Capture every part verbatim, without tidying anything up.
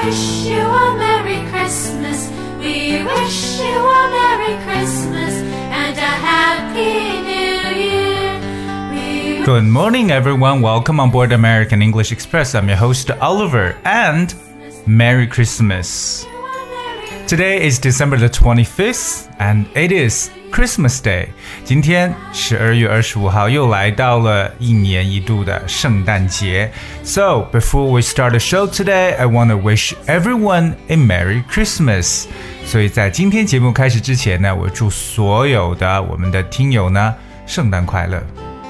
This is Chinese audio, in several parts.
wish you a Merry Christmas. We wish you a Merry Christmas and a Happy New Year. We Good morning, everyone. Welcome on board American English Express. I'm your host, Oliver, and Merry Christmas. Today is December the twenty-fifth, and it is Christmas Day. 今天十二月二十五号又来到了一年一度的圣诞节。So, before we start the show today, I want to wish everyone a Merry Christmas. 所以在今天节目开始之前呢，我祝所有的我们的听友呢，圣诞快乐。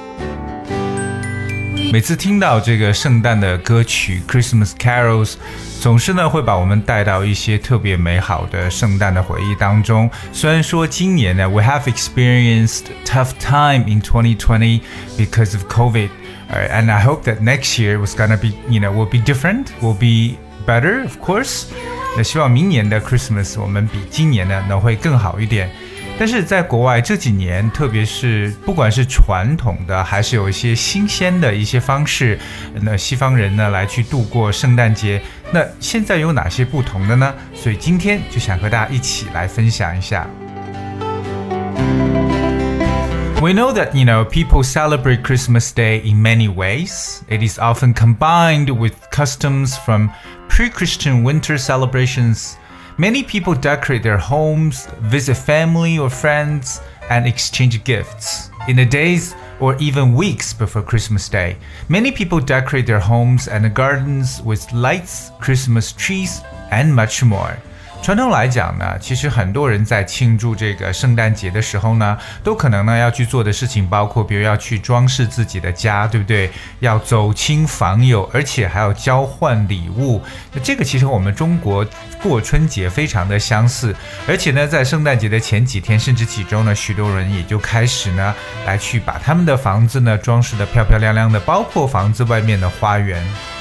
每次听到这个圣诞的歌曲 Christmas Carols， 总是呢会把我们带到一些特别美好的圣诞的回忆当中。虽然说今年呢 we have experienced tough time in twenty twenty because of COVID, right? And I hope that next year was gonna be, you know, will be different, will be better, of course. 那希望明年的 Christmas 我们比今年呢能会更好一点。但是在国外这几年，特别是不管是传统的还是有一些新鲜的一些方式，那西方人呢来去度过圣诞节，那现在有哪些不同的呢？所以今天就想和大家一起来分享一下。We know that, you know, people celebrate Christmas Day in many ways. It is often combined with customs from pre-Christian winter celebrations.Many people decorate their homes, visit family or friends, and exchange gifts. In the days or even weeks before Christmas Day, many people decorate their homes and gardens with lights, Christmas trees, and much more.传统来讲呢，其实很多人在庆祝这个圣诞节的时候呢，都可能呢要去做的事情包括，比如要去装饰自己的家，对不对？要走亲访友，而且还要交换礼物。那这个其实我们中国过春节非常的相似，而且呢，在圣诞节的前几天甚至几周呢，许多人也就开始呢来去把他们的房子呢装饰得漂漂亮亮的，包括房子外面的花园。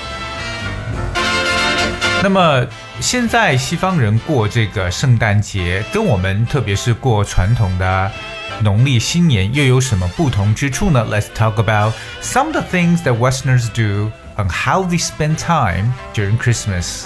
那么现在西方人过这个圣诞节跟我们特别是过传统的农历新年又有什么不同之处呢？ Let's talk about some of the things that Westerners do and how they spend time during Christmas.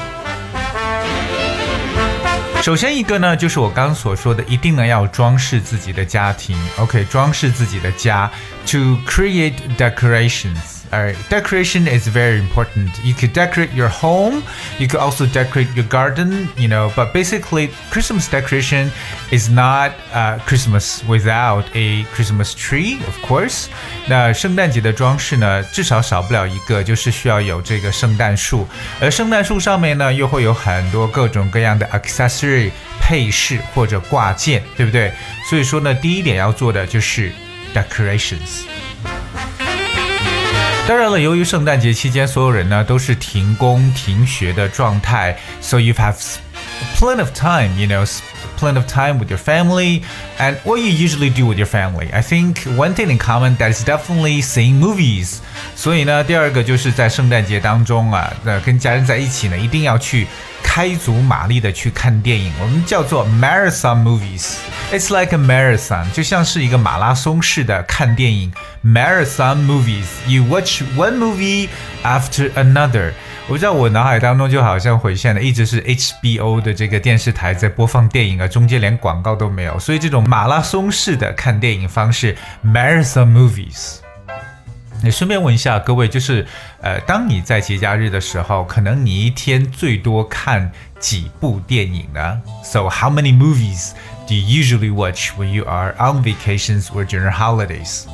首先一个呢，就是我刚刚所说的，一定呢要装饰自己的家庭 OK 装饰自己的家 To create decorations.Alright, decoration is very important. You could decorate your home, you could also decorate your garden, you know, but basically Christmas decoration is not uh, Christmas without a Christmas tree, of course. 那圣诞节的装饰呢，至少少不了一个，就是需要有这个圣诞树，而圣诞树上面呢，又会有很多各种各样的 accessory 配饰或者挂件，对不对？所以说呢，第一点要做的就是 decorations。当然了，由于圣诞节期间所有人呢都是停工停学的状态 So you have plenty of time, you know, plenty of time with your family and what you usually do with your family. I think one thing in common that is definitely seeing movies. 所以呢，第二个就是在圣诞节当中啊，那跟家人在一起呢，一定要去开足马力的去看电影，我们叫做 marathon movies. It's like a marathon, 就像是一个马拉松式的看电影 marathon movies. You watch one movie after another. 我知道我脑海当中就好像回现了一直是 H B O 的这个电视台在播放电影啊，中间连广告都没有，所以这种马拉松式的看电影方式 marathon movies。也顺便问一下各位，就是呃，当你在节假日的时候，可能你一天最多看几部电影呢？ So how many movies do you usually watch when you are on vacations or during holidays?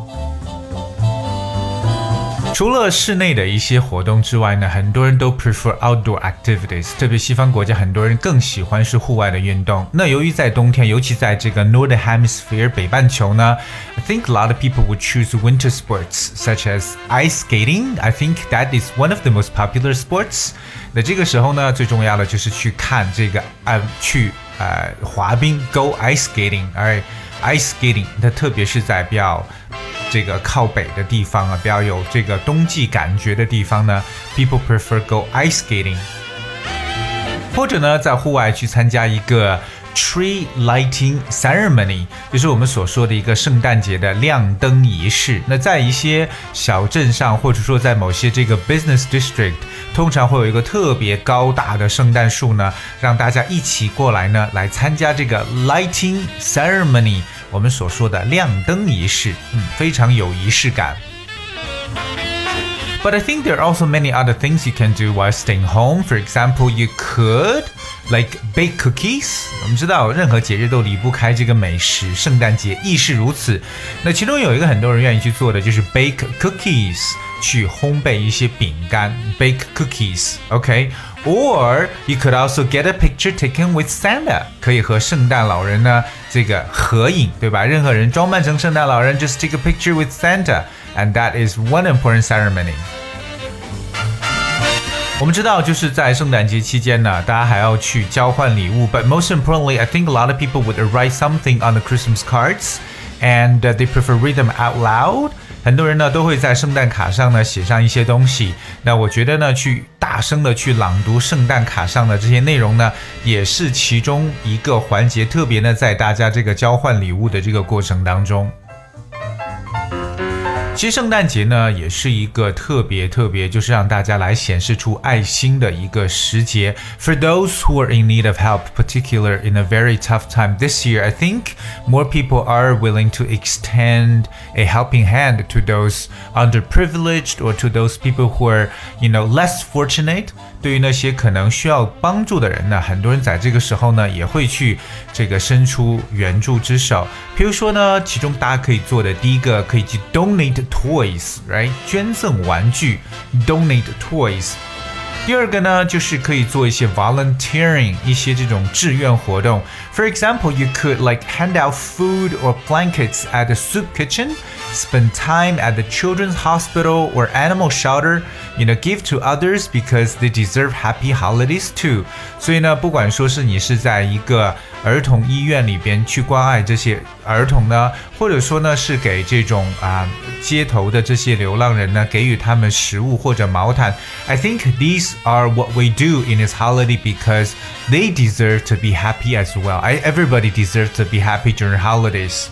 除了室内的一些活动之外呢，很多人都 prefer outdoor activities， 特别西方国家很多人更喜欢是户外的运动。那由于在冬天，尤其在这个 Northern Hemisphere 北半球呢， I think a lot of people would choose winter sports such as ice skating. I think that is one of the most popular sports. 那这个时候呢，最重要的就是去看这个呃去呃滑冰 go ice skating. Alright, ice skating 它特别是在比较这个靠北的地方啊，比较有这个冬季感觉的地方呢 people prefer go ice skating， 或者呢在户外去参加一个 tree lighting ceremony， 就是我们所说的一个圣诞节的亮灯仪式。那在一些小镇上，或者说在某些这个 business district， 通常会有一个特别高大的圣诞树呢，让大家一起过来呢，来参加这个 lighting ceremony， 我们所说的亮灯仪式，嗯，非常有仪式感。But I think there are also many other things you can do while staying home. For example, you could like bake cookies. 我们知道任何节日都离不开这个美食，圣诞节亦是如此。那其中有一个很多人愿意去做的就是 bake cookies， 去烘焙一些饼干 bake cookies, okay? Or you could also get a picture taken with Santa. 可以和圣诞老人呢这个合影，对吧？任何人装扮成圣诞老人 just take a picture with Santa. And that is one important ceremony. 我们知道就是在圣诞节期间呢，大家还要去交换礼物 But most importantly, I think a lot of people would write something on the Christmas cards And uh, they prefer read them out loud. 很多人呢都会在圣诞卡上呢写上一些东西。那我觉得呢去大声的去朗读圣诞卡上的这些内容呢，也是其中一个环节，特别呢在大家这个交换礼物的这个过程当中。其实圣诞节呢也是一个特别特别就是让大家来显示出爱心的一个时节 For those who are in need of help, particularly in a very tough time this year, I think more people are willing to extend a helping hand to those underprivileged or to those people who are, you know, less fortunate. 对于那些可能需要帮助的人呢，很多人在这个时候呢也会去这个伸出援助之手。比如说呢，其中大家可以做的第一个可以去 donate toys, right? 捐赠玩具 donate toys。第二个呢，就是可以做一些 volunteering， 一些这种志愿活动。For example, you could like hand out food or blankets at the soup kitchen, spend time at the children's hospital or animal shelter, you know, give to others because they deserve happy holidays too. 所以呢，不管说是你是在一个儿童医院里边去关爱这些儿童呢，或者说呢是给这种啊街头的这些流浪人呢，给予他们食物或者毛毯。I think these are what we do in this holiday because they deserve to be happy as well. I, everybody deserves to be happy during holidays.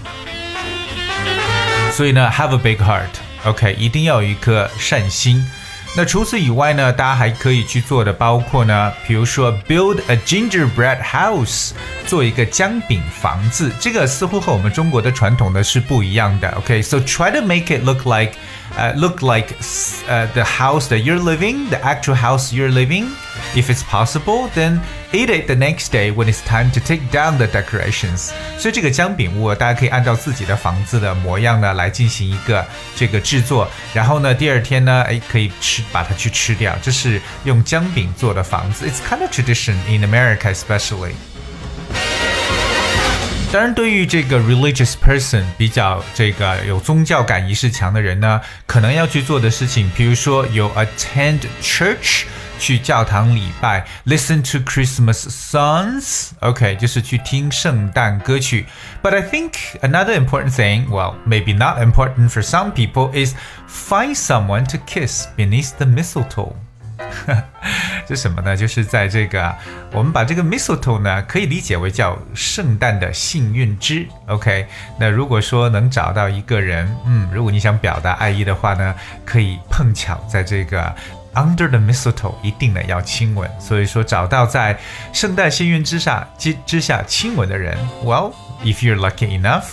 所以呢 have a big heart, OK, 一定要有一颗善心。那除此以外呢，大家还可以去做的包括呢，比如说 build a gingerbread house， 做一个姜饼房子，这个似乎和我们中国的传统的是不一样的。OK, so try to make it look like, uh, look like uh, the house that you're living, the actual house you're living. If it's possible, then eat it the next day when it's time to take down the decorations. 所以这个姜饼屋，大家可以按照自己的房子的模样呢来进行一个这个制作，然后呢，第二天呢，哎，可以吃，把它去吃掉。这是用姜饼做的房子。It's kind of tradition in America, especially. 当然，对于这个 religious person 比较这个有宗教感仪式强的人呢，可能要去做的事情，比如说有 attend church。去教堂礼拜 listen to Christmas songs, OK, 就是去听圣诞歌曲。But I think another important thing, well, maybe not important for some people, is find someone to kiss beneath the mistletoe. 这什么呢？就是在这个我们把这个 mistletoe 呢可以理解为叫圣诞的幸运枝 OK， 那如果说能找到一个人，嗯，如果你想表达爱意的话呢，可以碰巧在这个Under the mistletoe 一定呢要亲吻，所以说找到在圣诞幸运之下之之下亲吻的人 ，Well, if you're lucky enough.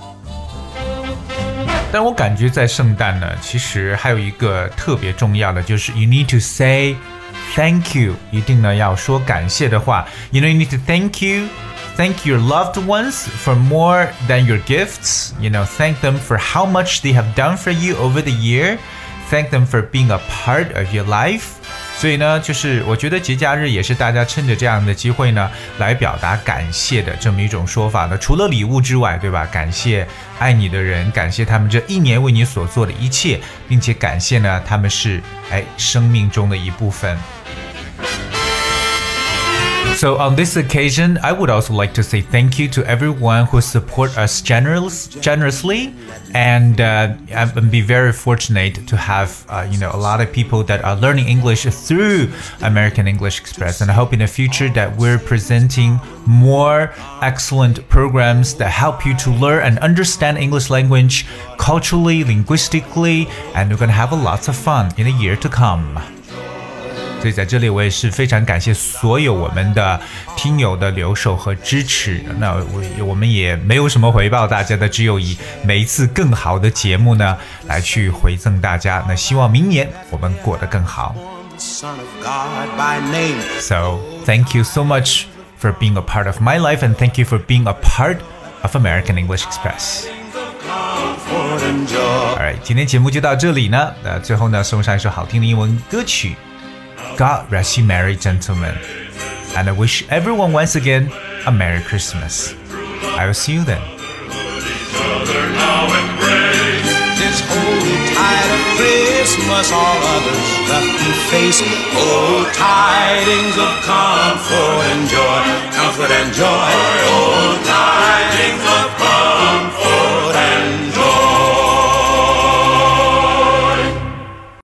但我感觉在圣诞呢，其实还有一个特别重要的，就是 you need to say thank you， 一定呢要说感谢的话。You know, you need to thank you, thank your loved ones for more than your gifts. You know, thank them for how much they have done for you over the year.Thank them for being a part of your life. 所以呢，就是我觉得节假日也是大家趁着这样的机会呢，来表达感谢的这么一种说法呢。除了礼物之外，对吧？感谢爱你的人，感谢他们这一年为你所做的一切，并且感谢呢，他们是哎生命中的一部分。 So on this occasion, I would also like to say thank you to everyone who support us generous, generously, and uh, and be very fortunate to have uh, you know a lot of people that are learning English through American English Express. And I hope in the future that we're presenting more excellent programs that help you to learn and understand English language culturally, linguistically, and we're gonna have a lots of fun in the year to come. 所以在这里我也是非常感谢所有我们的听友的留守和支持。那我我们也没有什么回报大家的，只有以每一次更好的节目呢来去回赠大家。那希望明年我们过得更好。So thank you so much for being a part of my life, and thank you for being a part of American English Express. Alright, 今天节目就到这里呢。那最后呢，送上一首好听的英文歌曲。God rest you merry gentlemen, and I wish everyone once again a Merry Christmas. I will see you then. This whole tide of Christmas, all others left to face. Oh, tidings of comfort and joy, comfort and joy.